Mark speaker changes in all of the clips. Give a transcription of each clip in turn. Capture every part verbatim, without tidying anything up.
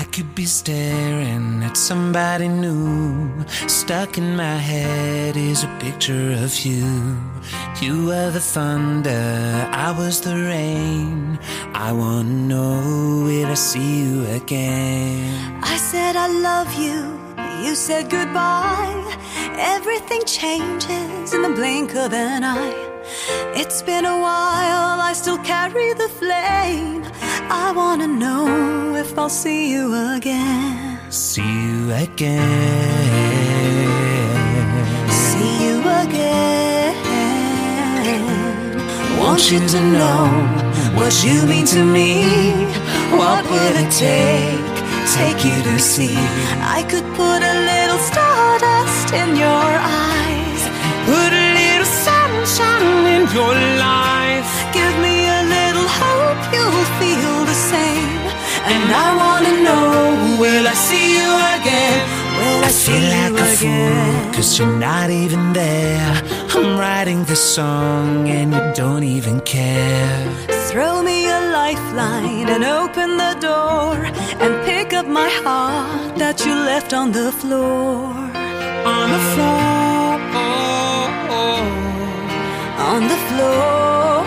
Speaker 1: could be staring at somebody new. Stuck in my head is a picture of you. You were the thunder, I was the rain. I wanna know, will I see you again?
Speaker 2: I said I love you, you said goodbye. Everything changes in the blink of an eye. It's been a while, I still carry the flame. I wanna know if I'll see you again.
Speaker 1: See you again.
Speaker 2: See you again.
Speaker 1: Want you to know what you mean to me. What will it take, take you to see?
Speaker 2: I could put a little stardust in your eyes.
Speaker 1: Put a little sunshine in your life.
Speaker 2: Give me a little hope you'll feel the same.
Speaker 1: And I wanna know, will I see you again? Will I, I feel like a again? Fool, cause you're not even there. I'm writing this song and you don't even care.
Speaker 2: Throw me a lifeline and open the door, and pick up my heart that you left on the floor.
Speaker 1: On the floor,
Speaker 2: on the floor.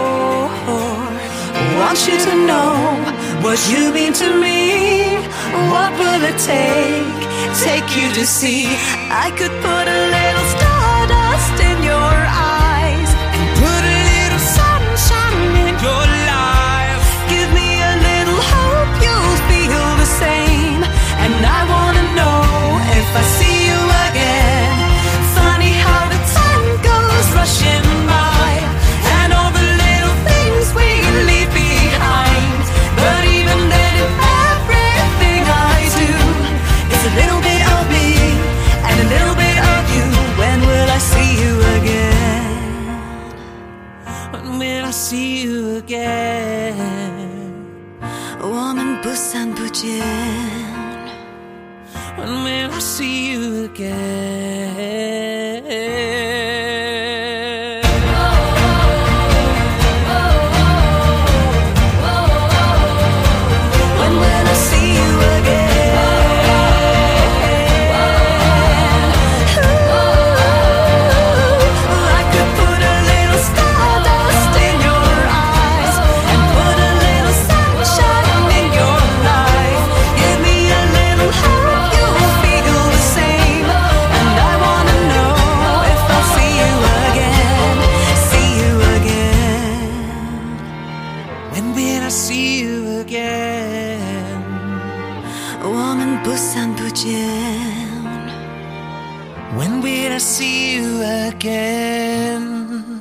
Speaker 2: Want you to know what you mean to me. What will it take, take you to see? I could put a little stardust in your eyes,
Speaker 1: and put a little sunshine in your life.
Speaker 2: Give me a little hope you'll feel the same. And I wanna know if I see you again. Funny how the time goes rushing by, and all the little things we leave behind. But even then, everything I do is a little bit of me and a little bit of you. When will I see you again?
Speaker 1: When will I see you again?
Speaker 2: 我们不散不见。
Speaker 1: When will I see you again? When will I see you again?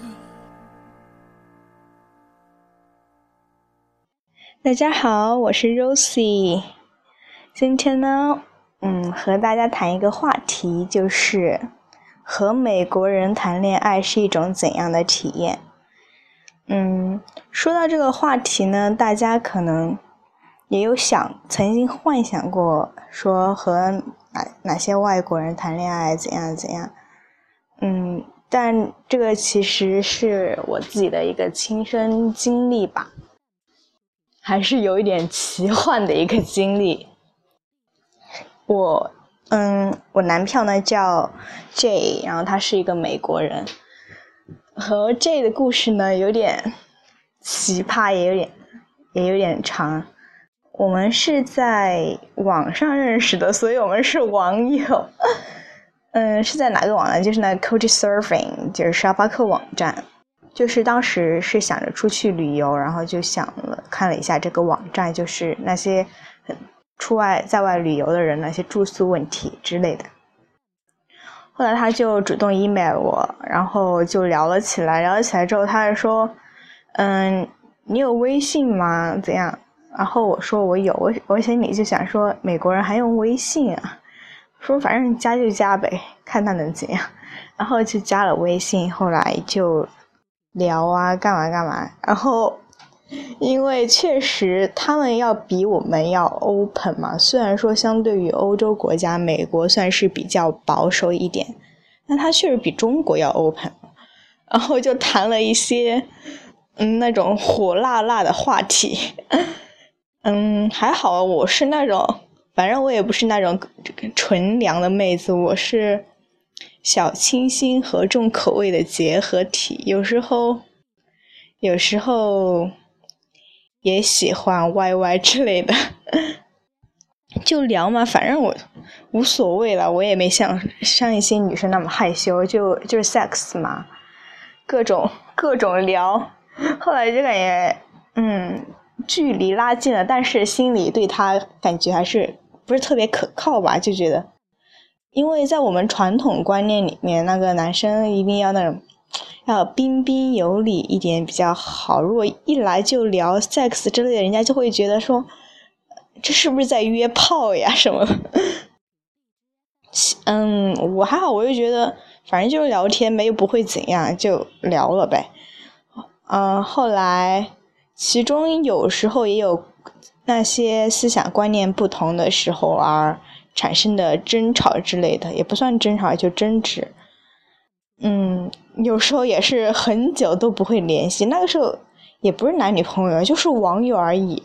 Speaker 3: 大家好，我是 Rosie。今天呢，嗯，和大家谈一个话题，就是和美国人谈恋爱是一种怎样的体验。嗯，说到这个话题呢，大家可能也有想，曾经幻想过说和哪哪些外国人谈恋爱怎样怎样。嗯，但这个其实是我自己的一个亲身经历吧，还是有一点奇幻的一个经历。我嗯，我男票呢叫 J， 然后他是一个美国人。和 J 的故事呢有点奇葩，也有点也有点长。我们是在网上认识的，所以我们是网友。嗯，是在哪个网站？就是那 Couchsurfing， 就是沙发客网站。就是当时是想着出去旅游，然后就想了看了一下这个网站，就是那些出外在外旅游的人那些住宿问题之类的。后来他就主动 email 我，然后就聊了起来。聊了起来之后，他就说：“嗯，你有微信吗？怎样？”然后我说我有，我我心里就想说，美国人还用微信啊？说反正加就加呗，看他能怎样。然后就加了微信，后来就聊啊，干嘛干嘛。然后因为确实他们要比我们要 open 嘛，虽然说相对于欧洲国家，美国算是比较保守一点，但他确实比中国要 open。然后就谈了一些嗯那种火辣辣的话题。嗯，还好我是那种反正我也不是那种纯良的妹子，我是小清新和重口味的结合体，有时候有时候也喜欢 Y Y 之类的，就聊嘛，反正我无所谓了，我也没像像一些女生那么害羞，就就是 sex 嘛，各种各种聊，后来就感觉嗯距离拉近了，但是心里对他感觉还是不是特别可靠吧，就觉得，因为在我们传统观念里面，那个男生一定要那种要彬彬有礼一点比较好，如果一来就聊 sex 之类的，人家就会觉得说这是不是在约炮呀什么的。嗯，我还好，我就觉得反正就是聊天呗，又不会怎样，就聊了呗。嗯，后来其中有时候也有那些思想观念不同的时候而产生的争吵之类的，也不算争吵，就争执。嗯，有时候也是很久都不会联系，那个时候也不是男女朋友，就是网友而已。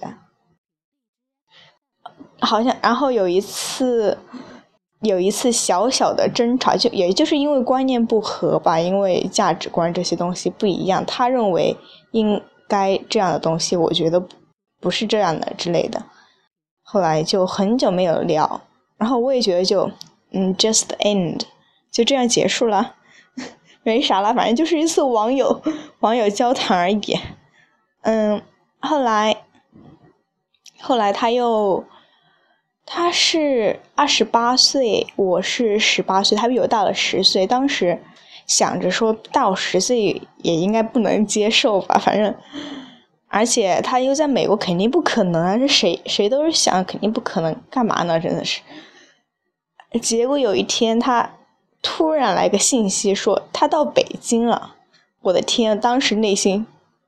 Speaker 3: 好像，然后有一次，有一次小小的争吵，就也就是因为观念不合吧，因为价值观这些东西不一样，他认为应该这样的东西，我觉得不是这样的之类的。后来就很久没有聊，然后我也觉得就嗯 just end 就这样结束了，没啥了，反正就是一次网友网友交谈而已。嗯，后来后来他又他是二十八岁，我是十八岁，他比我大了十岁。当时想着说大我十岁也应该不能接受吧，反正而且他又在美国，肯定不可能啊！这谁谁都是想肯定不可能，干嘛呢？真的是。结果有一天他突然来个信息说他到北京了，我的天，当时内心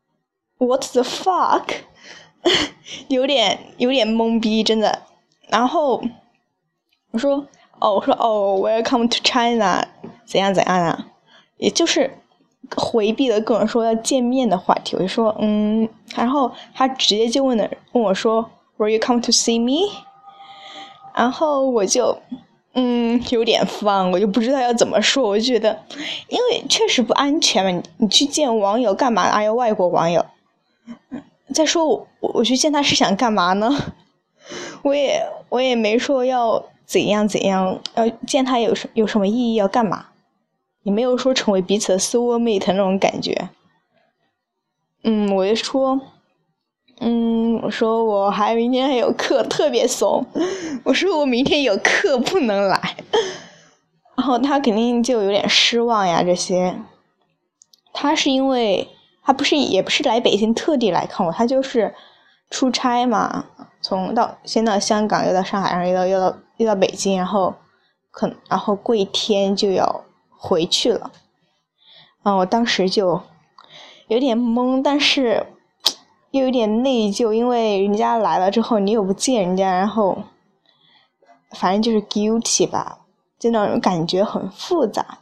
Speaker 3: what the fuck 有点有点懵逼，真的。然后我说哦，我说哦 welcome to China 怎样怎样啊，也就是回避了跟我说要见面的话题。我就说嗯，然后他直接就问了问我说 Will you come to see me？ 然后我就嗯有点慌，我就不知道要怎么说。我就觉得因为确实不安全嘛，你你去见网友干嘛？哎呀，外国网友。再说我我去见他是想干嘛呢？我也我也没说要怎样怎样，要见他有什有什么意义，要干嘛，也没有说成为彼此的 soulmate 那种感觉。嗯，我就说，嗯，我说我还明天还有课，特别怂。我说我明天有课不能来，然后他肯定就有点失望呀。这些，他是因为他不是也不是来北京特地来看我，他就是出差嘛。从到先到香港，又到上海，然后又到又到又到北京，然后可然后过一天就要回去了。啊，我当时就有点懵，但是又有点内疚，因为人家来了之后你又不见人家，然后反正就是 guilty 吧，就那种感觉很复杂。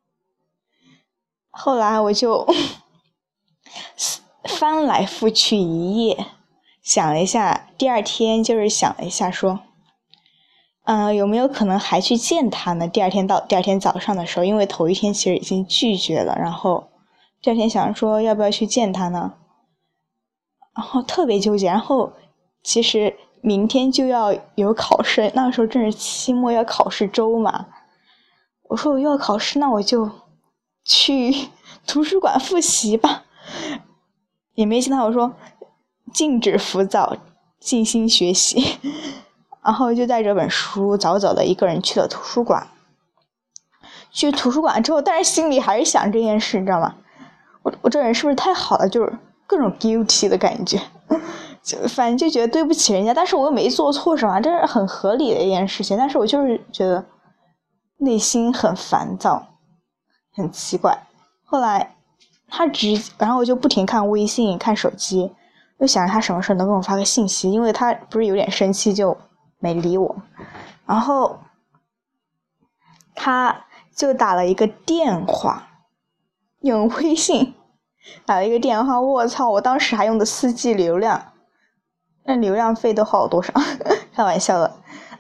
Speaker 3: 后来我就翻来覆去一夜。想了一下，第二天就是想了一下说，嗯、呃，有没有可能还去见他呢？第二天到第二天早上的时候，因为头一天其实已经拒绝了，然后第二天想说要不要去见他呢？然后特别纠结，然后其实明天就要有考试，那个时候正是期末要考试周嘛。我说我又要考试，那我就去图书馆复习吧。也没见他，我说禁止浮躁，静心学习。然后就带着本书早早的一个人去了图书馆。去图书馆之后，但是心里还是想这件事，你知道吗？我我这人是不是太好了？就是各种 guilty 的感觉，就反正就觉得对不起人家，但是我又没做错什么，这是很合理的一件事情。但是我就是觉得内心很烦躁，很奇怪。后来他直，然后我就不停看微信、看手机，就想着他什么时候能给我发个信息，因为他不是有点生气就没理我，然后他就打了一个电话，用微信打了一个电话，我操！我当时还用的四 G 流量，那流量费都好多少？开玩笑的。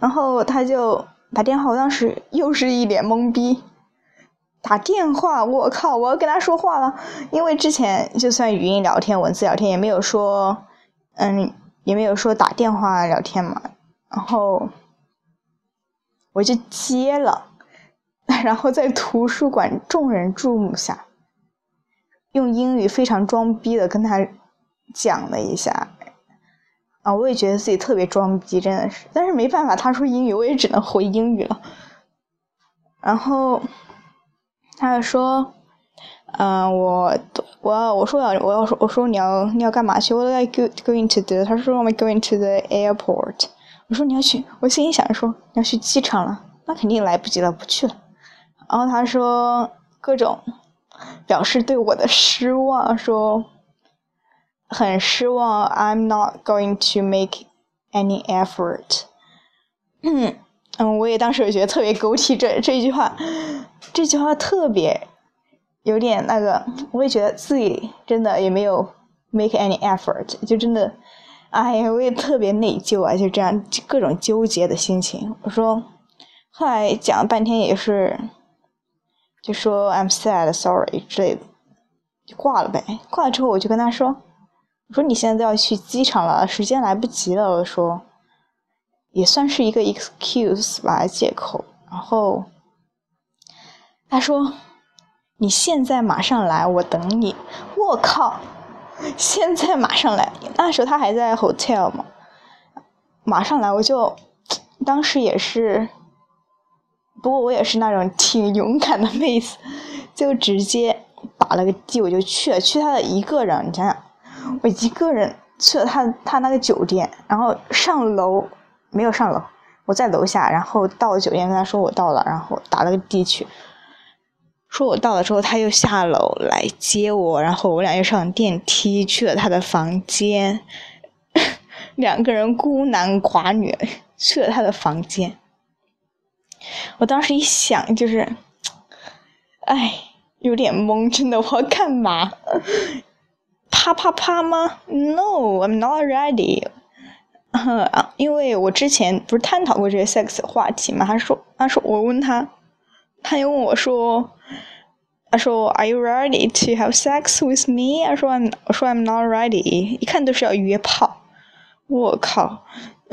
Speaker 3: 然后他就打电话，我当时又是一脸懵逼。打电话，我靠，我要跟他说话了，因为之前就算语音聊天、文字聊天，也没有说，嗯，也没有说打电话聊天嘛。然后我就接了，然后在图书馆众人注目下，用英语非常装逼的跟他讲了一下。啊，我也觉得自己特别装逼，真的是，但是没办法，他说英语，我也只能回英语了。然后他就说，嗯、呃，我我我说要我要说我说你要你要干嘛去？我在 go going to the， 他说我们 going to the airport。我说你要去，我心里想说你要去机场了，那肯定来不及了，不去了。然后他说各种表示对我的失望，说很失望 ，I'm not going to make any effort。嗯嗯，我也当时我觉得特别狗屁，这这句话，这句话特别有点那个，我也觉得自己真的也没有 make any effort， 就真的，哎呀，我也特别内疚啊，就这样各种纠结的心情。我说，后来讲了半天也是，就说 I'm sad, sorry 之类的，就挂了呗。挂了之后我就跟他说，我说你现在都要去机场了，时间来不及了。我说，也算是一个 excuse 吧，借口。然后他说，你现在马上来，我等你。我靠，现在马上来，那时候他还在 hotel 嘛，马上来，我就当时也是，不过我也是那种挺勇敢的妹子，就直接打了个的我就去了，去他的一个人，你想想，我一个人去了他他那个酒店，然后上楼没有上楼，我在楼下，然后到了酒店跟他说我到了，然后打了个的去。说我到了之后，他又下楼来接我，然后我俩又上电梯去了他的房间，两个人孤男寡女去了他的房间。我当时一想就是，哎，有点懵，真的，我要干嘛？啪啪啪吗 ？No, I'm not ready。因为我之前不是探讨过这个 sex 的话题嘛，他说，他说我问他。他又问我说，他说 Are you ready to have sex with me？ 我说 I'm， 我说 I'm not ready， 一看都是要约炮，我靠！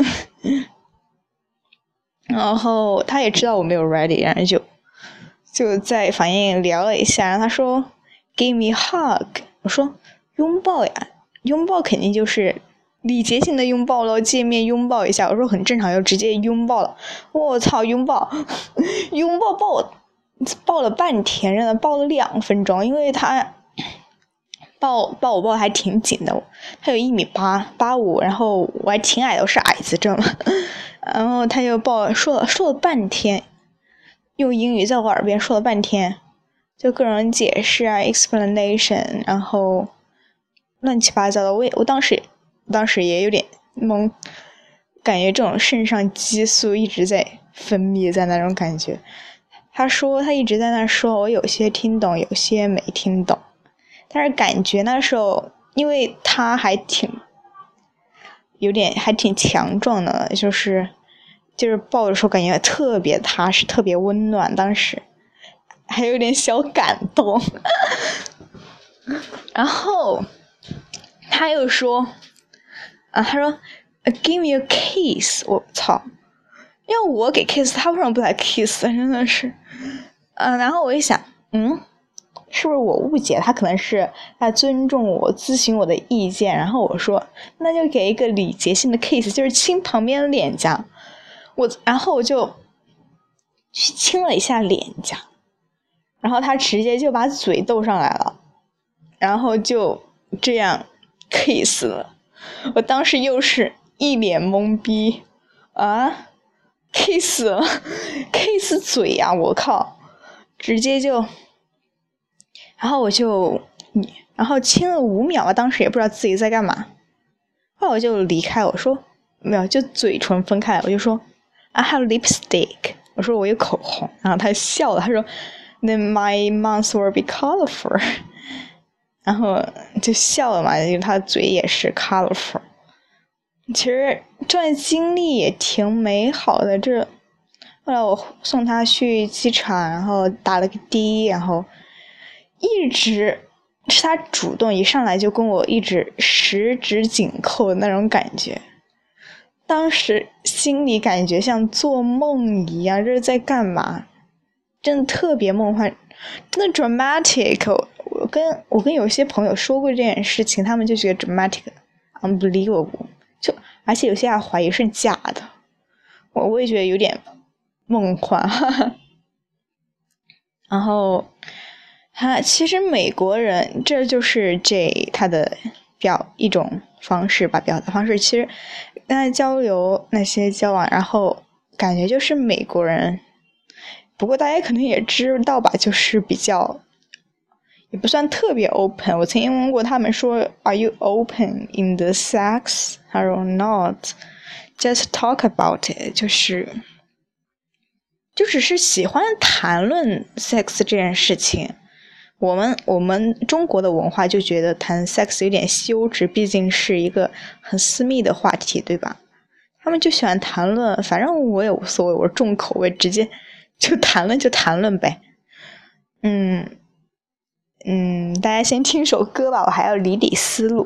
Speaker 3: 然后他也知道我没有 ready， 然后就就在房间里聊了一下，然后他说 Give me hug， 我说拥抱呀，拥抱肯定就是礼节性的拥抱咯，见面拥抱一下，我说很正常，就直接拥抱了。我操，拥抱，拥抱抱我。抱了半天，真的抱了两分钟，因为他抱抱我抱的还挺紧的，他有一米八八五，然后我还挺矮的，我是矮子，知道吗？然后他就抱说了说了半天，用英语在我耳边说了半天，就各种解释啊 explanation， 然后乱七八糟的，我也我当时当时也有点懵，感觉这种肾上激素一直在分泌在那种感觉。他说他一直在那说，我有些听懂，有些没听懂，但是感觉那时候因为他还挺有点还挺强壮的，就是就是抱的时候感觉特别踏实，特别温暖，当时还有点小感动。然后他又说啊，他说 Give me a kiss， 我操，要我给 kiss， 他为什么不来 kiss？ 真的是，嗯、呃，然后我一想，嗯，是不是我误解？他可能是在尊重我，咨询我的意见。然后我说，那就给一个礼节性的 kiss， 就是亲旁边的脸颊。我，然后我就去亲了一下脸颊，然后他直接就把嘴逗上来了，然后就这样 kiss 了。我当时又是一脸懵逼啊！ kiss 了 kiss 嘴呀、啊、我靠，直接就然后我就然后亲了五秒吧，当时也不知道自己在干嘛，后来我就离开，我说没有，就嘴唇分开，我就说 I have lipstick， 我说我有口红，然后他笑了，他说 Then my mouth will be colorful， 然后就笑了嘛，因为他的嘴也是 colorful。 其实这段经历也挺美好的。这后来我送他去机场，然后打了个的，然后一直是他主动，一上来就跟我一直十指紧扣的那种感觉。当时心里感觉像做梦一样，这是在干嘛？真的特别梦幻，真的 dramatic。我跟我跟有些朋友说过这件事情，他们就觉得 dramatic unbelievable， 就而且有些还怀疑是假的。我我也觉得有点梦幻。哈哈。然后他其实美国人，这就是 J 他的表一种方式吧，表达方式。其实跟他交流那些交往，然后感觉就是美国人。不过大家可能也知道吧，就是比较也不算特别 open。我曾经问过他们说 Are you open in the sex or not? Just talk about it. 就是就只是喜欢谈论 sex 这件事情。我们我们中国的文化就觉得谈 sex 有点羞耻，毕竟是一个很私密的话题，对吧？他们就喜欢谈论，反正我也无所谓，我重口味，直接就谈论就谈论呗。嗯嗯，大家先听首歌吧，我还要理理思路。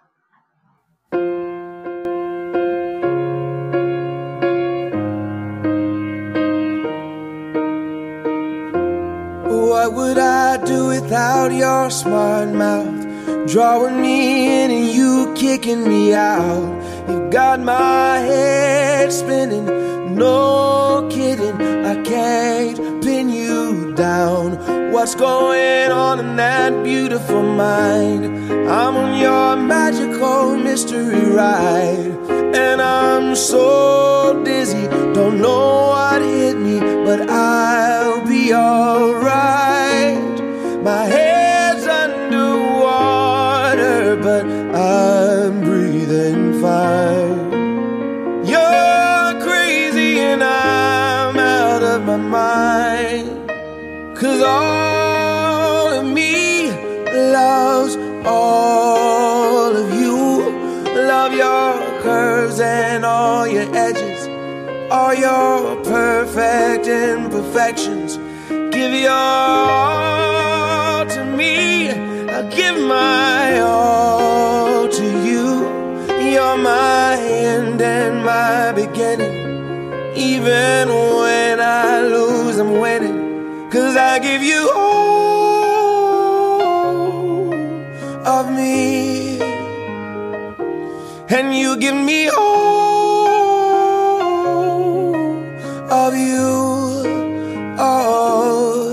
Speaker 4: What would I do without your smart mouth? Drawing me in and you kicking me out. You got my head spinning, no kidding. I can't pin you down. What's going on in that beautiful mind? I'm on your magical mystery ride, and I'm so dizzy, don't know what hit me, but I'll be alright. My head's underwater, but I'm breathing fine. You're crazy and I'm out of my mind, 'cause all of me loves all of you. Love your curves and all your edges, all your perfect imperfections. Give your all to me, I'll give my all to you. You're my end and my beginning. Even when I lose, I'm winning, 'cause I give you all of me, and you give me all of you. Oh,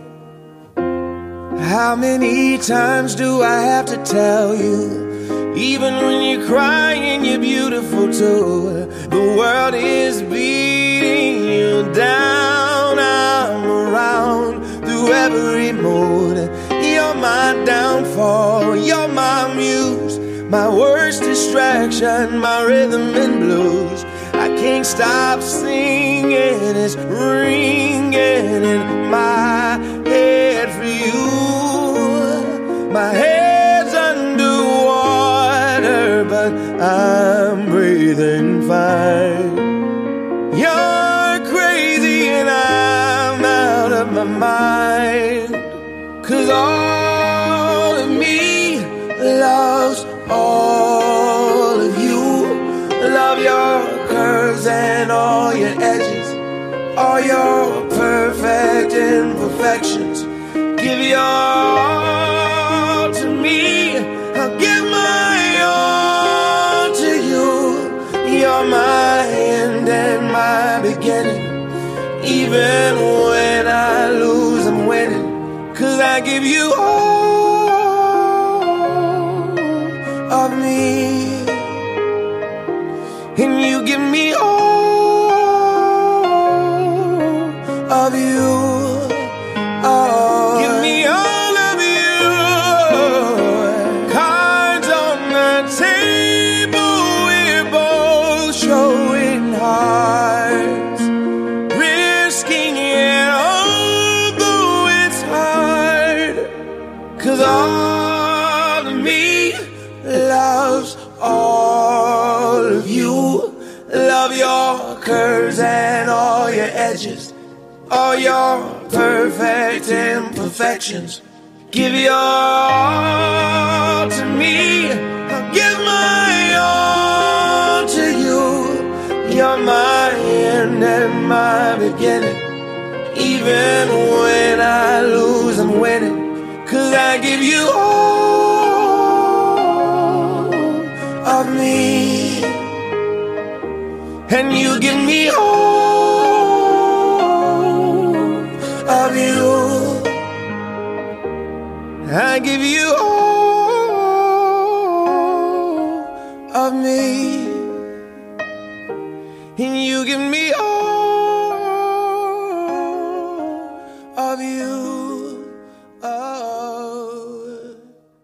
Speaker 4: how many times do I have to tell you? Even when you're crying, you're beautiful too. The world is beating you down. I'm around through every mood. You're my downfall, you're my muse, my worst distraction, my rhythm and blues. I can't stop singing, it's ringing in my head for you. My head's underwater, but I'm breathing fine. You're crazy and I'm out of my mind, 'cause all of me loves all of you. Love your curves and all your edges, all your perfect imperfections. Give your all to me, I'll give my all to you. You're my end and my beginning. Even when I lose, I'm winning, 'cause I give you all of me, and you give me all of you. Oh, give me all of you. Cards on the table, we're both showing hearts, risking it, although it's hard. affections. Give your all to me. I'll give my all to you. You're my end and my beginning. Even when I lose, I'm winning. 'Cause I give you all of me, and you give me all of you. I give you all of me, and you give me all of you. Oh.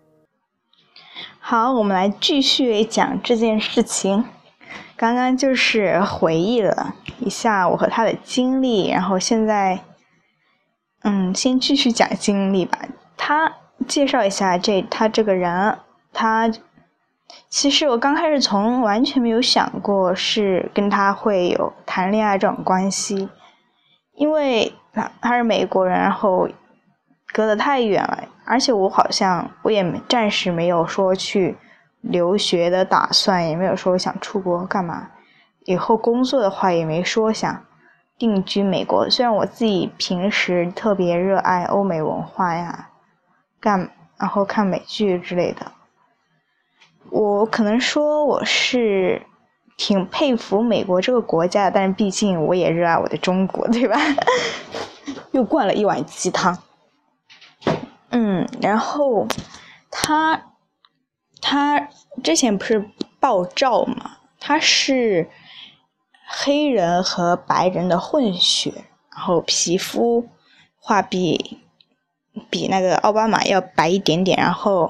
Speaker 3: 好，我们来继续讲这件事情。刚刚就是回忆了一下我和他的经历，然后现在，嗯，先继续讲经历吧。他介绍一下这他这个人，他其实我刚开始从完全没有想过是跟他会有谈恋爱这种关系，因为他他是美国人，然后隔得太远了，而且我好像我也暂时没有说去留学的打算，也没有说想出国干嘛，以后工作的话也没说想定居美国。虽然我自己平时特别热爱欧美文化呀，干然后看美剧之类的，我可能说我是挺佩服美国这个国家的，但是毕竟我也热爱我的中国，对吧？又灌了一碗鸡汤。嗯，然后他他之前不是爆照嘛，他是黑人和白人的混血，然后皮肤画比比那个奥巴马要白一点点，然后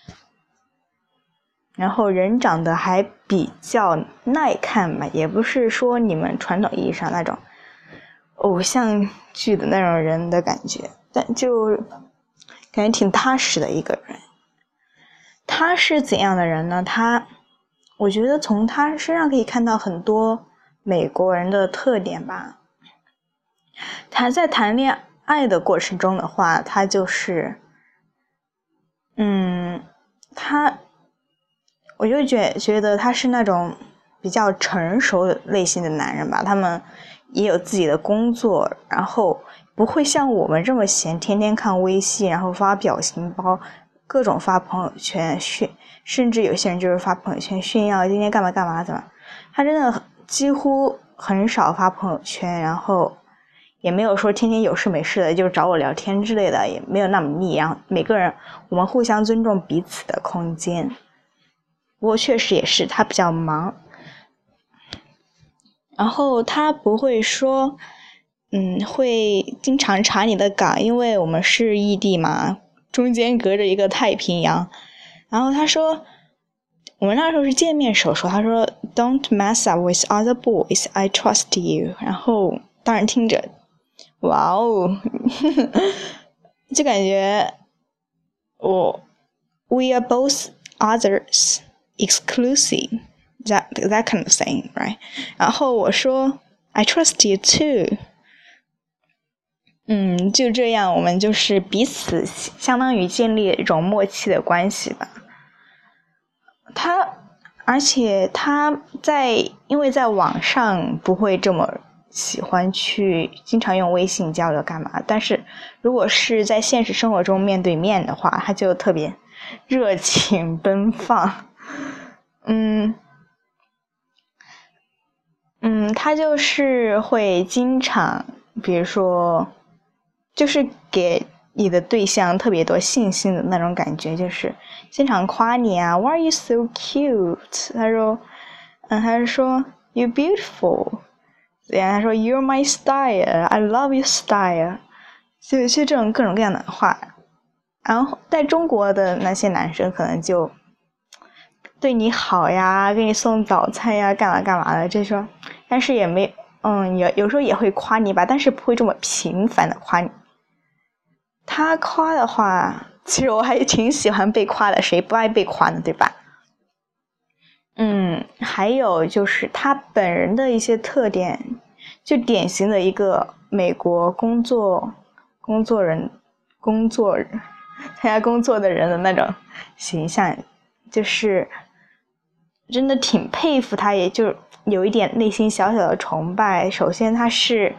Speaker 3: 然后人长得还比较耐看吧，也不是说你们传统意义上那种偶像剧的那种人的感觉，但就感觉挺踏实的一个人。他是怎样的人呢？他我觉得从他身上可以看到很多美国人的特点吧。他在谈恋爱的过程中的话，他就是嗯他我就觉觉得他是那种比较成熟类型的男人吧，他们也有自己的工作，然后不会像我们这么闲，天天看微信，然后发表情包，各种发朋友圈炫，甚至有些人就是发朋友圈炫耀今天干嘛干嘛怎么。他真的几乎很少发朋友圈，然后也没有说天天有事没事的就找我聊天之类的，也没有那么腻，然后每个人我们互相尊重彼此的空间。不过确实也是他比较忙，然后他不会说嗯会经常查你的岗，因为我们是异地嘛，中间隔着一个太平洋。然后他说我们那时候是见面时说，他说 Don't mess up with other boys, I trust you。 然后当然听着哇哦就感觉我 We are both others exclusive, that, that kind of thing, right? 然后我说 I trust you too。 嗯，就这样我们就是彼此相当于建立一种默契的关系吧。他而且他在因为在网上不会这么喜欢去经常用微信交流干嘛，但是如果是在现实生活中面对面的话，他就特别热情奔放。嗯嗯，他就是会经常比如说就是给你的对象特别多信心的那种感觉，就是经常夸你啊 Why are you so cute？ 他说嗯，他说 You beautiful， 然后他说 You're my style， I love your style， 就就这种各种各样的话。然后在中国的那些男生可能就对你好呀，给你送早餐呀，干嘛干嘛的这种，但是也没嗯有有时候也会夸你吧，但是不会这么频繁的夸你。他夸的话，其实我还挺喜欢被夸的，谁不爱被夸呢，对吧？嗯，还有就是他本人的一些特点，就典型的一个美国工作工作人工作参加工作的人的那种形象，就是真的挺佩服他，也就有一点内心小小的崇拜。首先他是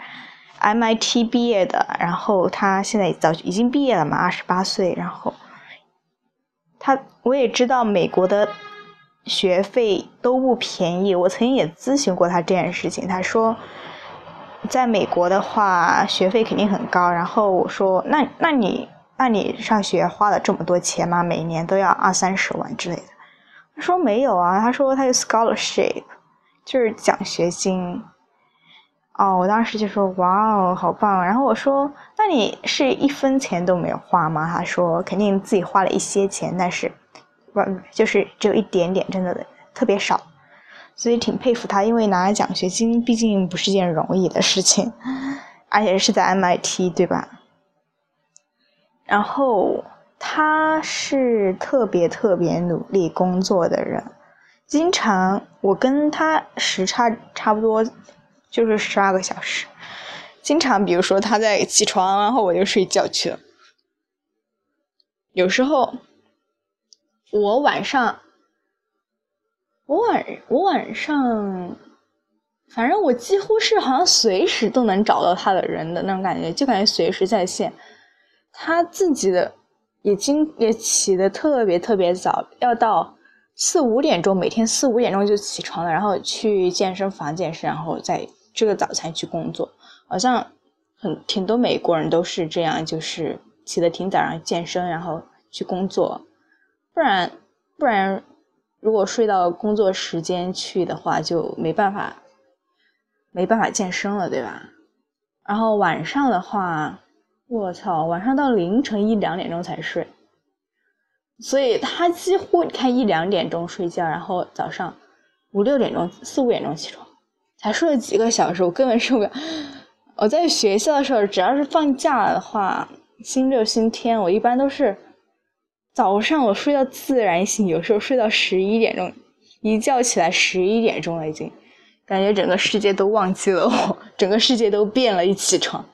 Speaker 3: M I T 毕业的，然后他现在早已经毕业了嘛，二十八岁。然后他我也知道美国的学费都不便宜，我曾经也咨询过他这件事情，他说在美国的话学费肯定很高。然后我说那那你那你上学花了这么多钱吗？每年都要二三十万之类的。他说没有啊，他说他有 scholarship， 就是奖学金。哦，我当时就说哇哦好棒。然后我说那你是一分钱都没有花吗？他说肯定自己花了一些钱，但是就是只有一点点，真的特别少。所以挺佩服他，因为拿奖学金毕竟不是件容易的事情，而且是在 M I T 对吧。然后他是特别特别努力工作的人，经常我跟他时差差不多就是十二个小时，经常比如说他在起床，然后我就睡觉去了。有时候我晚上我晚我晚上反正我几乎是好像随时都能找到他的人的那种感觉，就感觉随时在线。他自己的也经也起得特别特别早，要到四五点钟，每天四五点钟就起床了，然后去健身房健身，然后再吃个早餐去工作。好像很挺多美国人都是这样，就是起得挺早，然后健身，然后去工作。不然不然如果睡到工作时间去的话，就没办法没办法健身了，对吧？然后晚上的话，我操，晚上到凌晨一两点钟才睡，所以他几乎你看一两点钟睡觉，然后早上五六点钟四五点钟起床，才睡了几个小时，我根本受不了。我在学校的时候，只要是放假的话，星期六星期天，我一般都是早上我睡到自然醒，有时候睡到十一点钟，一觉起来十一点钟了，已经感觉整个世界都忘记了我，整个世界都变了，一起床。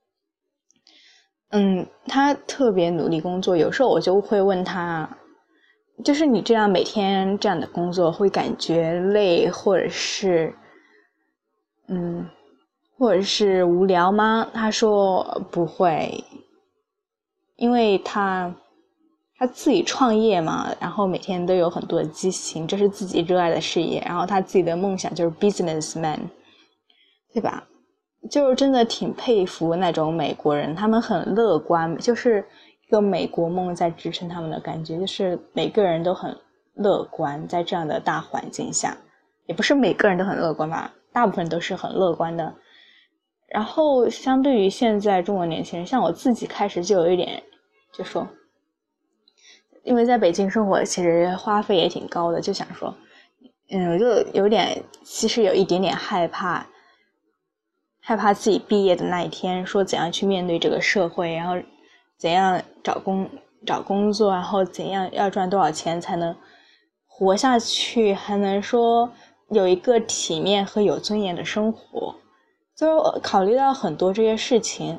Speaker 3: 嗯，他特别努力工作，有时候我就会问他，就是你这样每天这样的工作会感觉累，或者是嗯或者是无聊吗？他说不会，因为他他自己创业嘛，然后每天都有很多的激情，这是自己热爱的事业，然后他自己的梦想就是 businessman， 对吧？就是真的挺佩服那种美国人，他们很乐观，就是一个美国梦在支撑他们的感觉，就是每个人都很乐观，在这样的大环境下，也不是每个人都很乐观吧，大部分都是很乐观的。然后相对于现在中国年轻人，像我自己开始就有一点就说，因为在北京生活其实花费也挺高的，就想说嗯，我就有点其实有一点点害怕害怕自己毕业的那一天，说怎样去面对这个社会，然后怎样找工找工作，然后怎样要赚多少钱才能活下去，还能说有一个体面和有尊严的生活，就考虑到很多这些事情。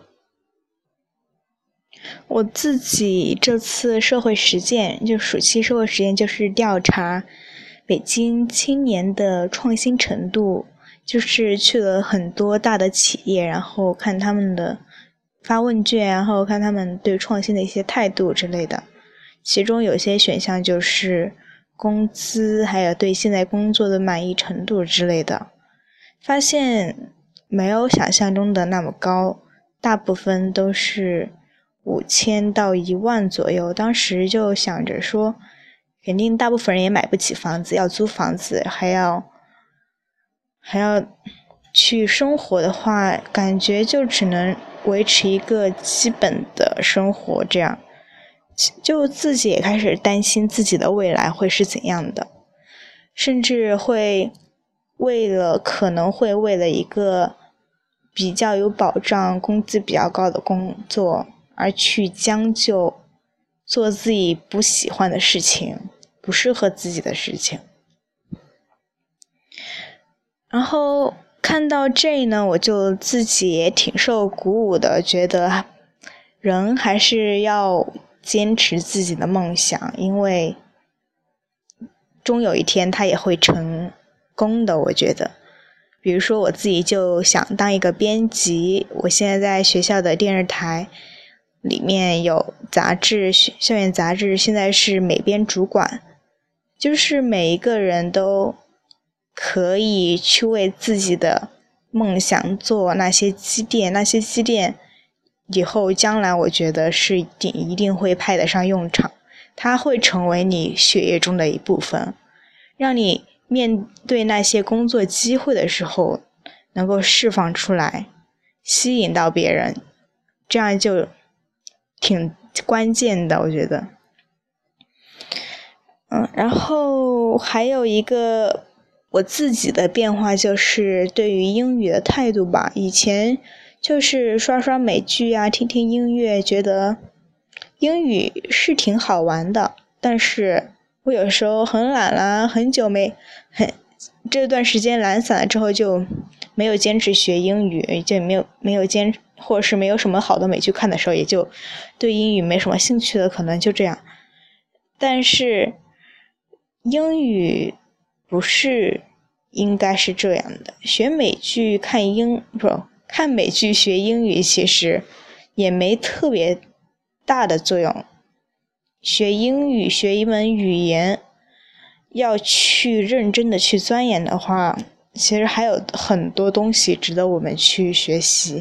Speaker 3: 我自己这次社会实践，就暑期社会实践，就是调查北京青年的创新程度，就是去了很多大的企业，然后看他们的发问卷，然后看他们对创新的一些态度之类的。其中有些选项就是工资，还有对现在工作的满意程度之类的，发现没有想象中的那么高，大部分都是五千到一万左右。当时就想着说，肯定大部分人也买不起房子，要租房子，还要还要去生活的话，感觉就只能维持一个基本的生活，这样就自己也开始担心自己的未来会是怎样的，甚至会为了可能会为了一个比较有保障、工资比较高的工作而去将就做自己不喜欢的事情，不适合自己的事情。然后看到这呢，我就自己也挺受鼓舞的，觉得人还是要坚持自己的梦想，因为终有一天他也会成功的，我觉得。比如说我自己就想当一个编辑，我现在在学校的电视台里面有杂志，校园杂志，现在是美编主管。就是每一个人都可以去为自己的梦想做那些积淀，那些积淀以后将来我觉得是一定一定会派得上用场，它会成为你血液中的一部分，让你面对那些工作机会的时候能够释放出来，吸引到别人，这样就挺关键的，我觉得。嗯，然后还有一个我自己的变化就是对于英语的态度吧。以前就是刷刷美剧啊，听听音乐，觉得英语是挺好玩的，但是我有时候很懒啦，很久没很这段时间懒散了之后就没有坚持学英语，就没有没有坚或者是没有什么好的美剧看的时候，也就对英语没什么兴趣了，可能就这样。但是英语不是应该是这样的，学美剧看英不看美剧学英语其实也没特别大的作用。学英语学一门语言要去认真的去钻研的话，其实还有很多东西值得我们去学习。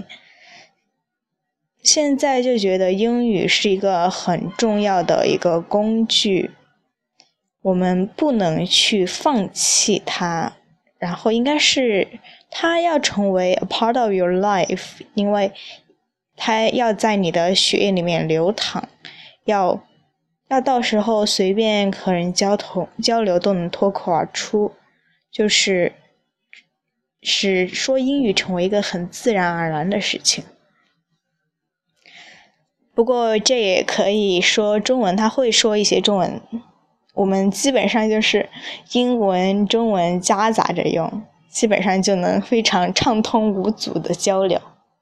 Speaker 3: 现在就觉得英语是一个很重要的一个工具，我们不能去放弃它，然后应该是它要成为 a part of your life， 因为它要在你的血液里面流淌，要要到时候随便和人交通交流都能脱口而出，就是使说英语成为一个很自然而然的事情。不过这也可以说中文，他会说一些中文，我们基本上就是英文中文夹杂着用，基本上就能非常畅通无阻的交流。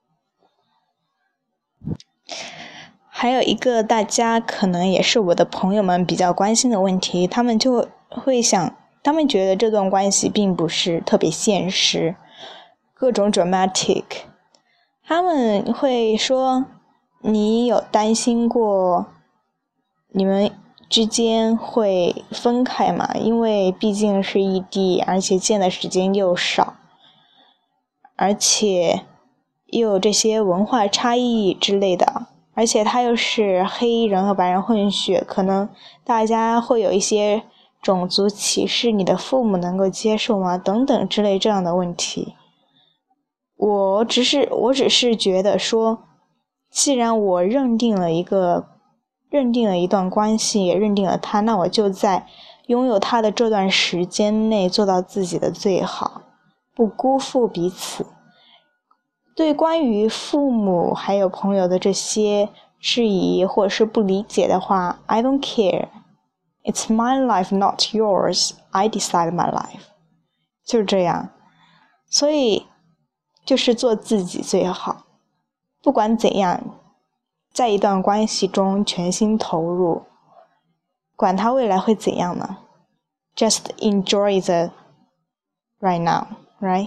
Speaker 3: 还有一个大家可能也是我的朋友们比较关心的问题，他们就会想，他们觉得这段关系并不是特别现实，各种 dramatic， 他们会说，你有担心过你们之间会分开嘛？因为毕竟是异地，而且见的时间又少，而且又有这些文化差异之类的，而且他又是黑人和白人混血，可能大家会有一些种族歧视，你的父母能够接受吗？等等之类这样的问题。我只是我只是觉得说，既然我认定了一个认定了一段关系，也认定了他，那我就在拥有他的这段时间内做到自己的最好，不辜负彼此。对关于父母还有朋友的这些质疑或者是不理解的话， I don't care. It's my life, not yours. I decide my life. 就是这样。所以就是做自己最好，不管怎样，在一段关系中全心投入，管他未来会怎样呢？ Just enjoy the right now, right?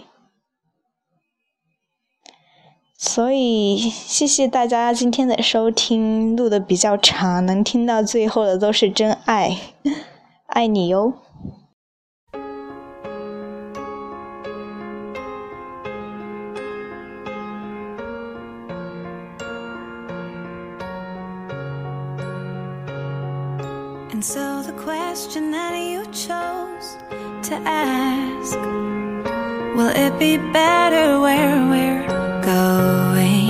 Speaker 3: 所以谢谢大家今天的收听，录得比较长，能听到最后的都是真爱，爱你哟。
Speaker 2: And so the question that you chose to ask, will it be better where we're going?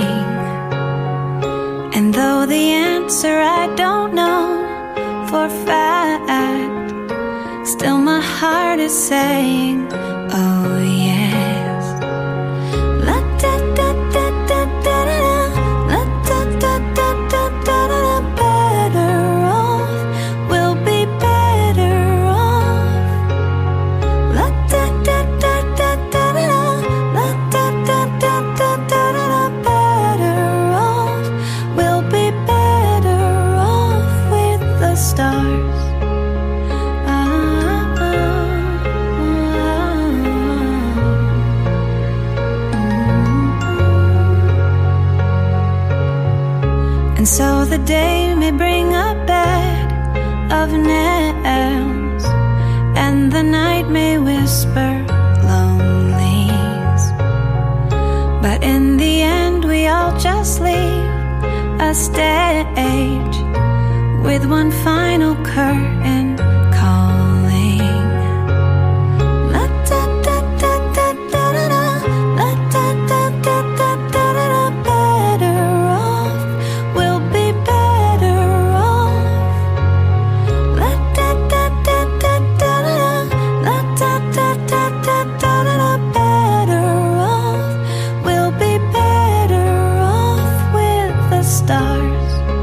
Speaker 2: And though the answer I don't know for fact, still my heart is saying, oh yes. La da da da da da da, la da da da da da da, better off, we'll be better off. La da da da da da da, la da da da da da da, better off, we'll be the day may bring a bed of nails, and the night may whisper lonelies, but in the end we all just leave a stage with one final curtain calling. La da da da da da da, la da da da da da da. Better off, we'll be better off. La da da da da da da, la da da da da da da. Better off, we'll be better off with the stars.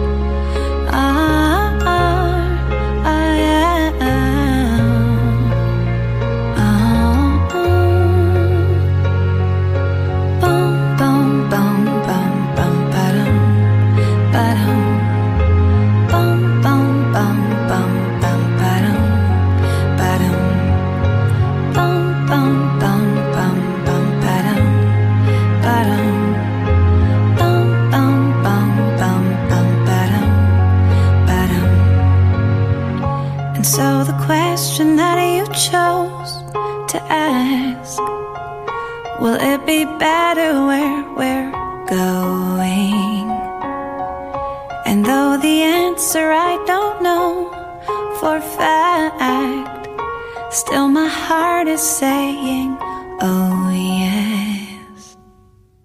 Speaker 2: So the question that you chose to ask, will it be better where we're going? And though the answer I don't know for fact, still my heart is saying, oh yeah.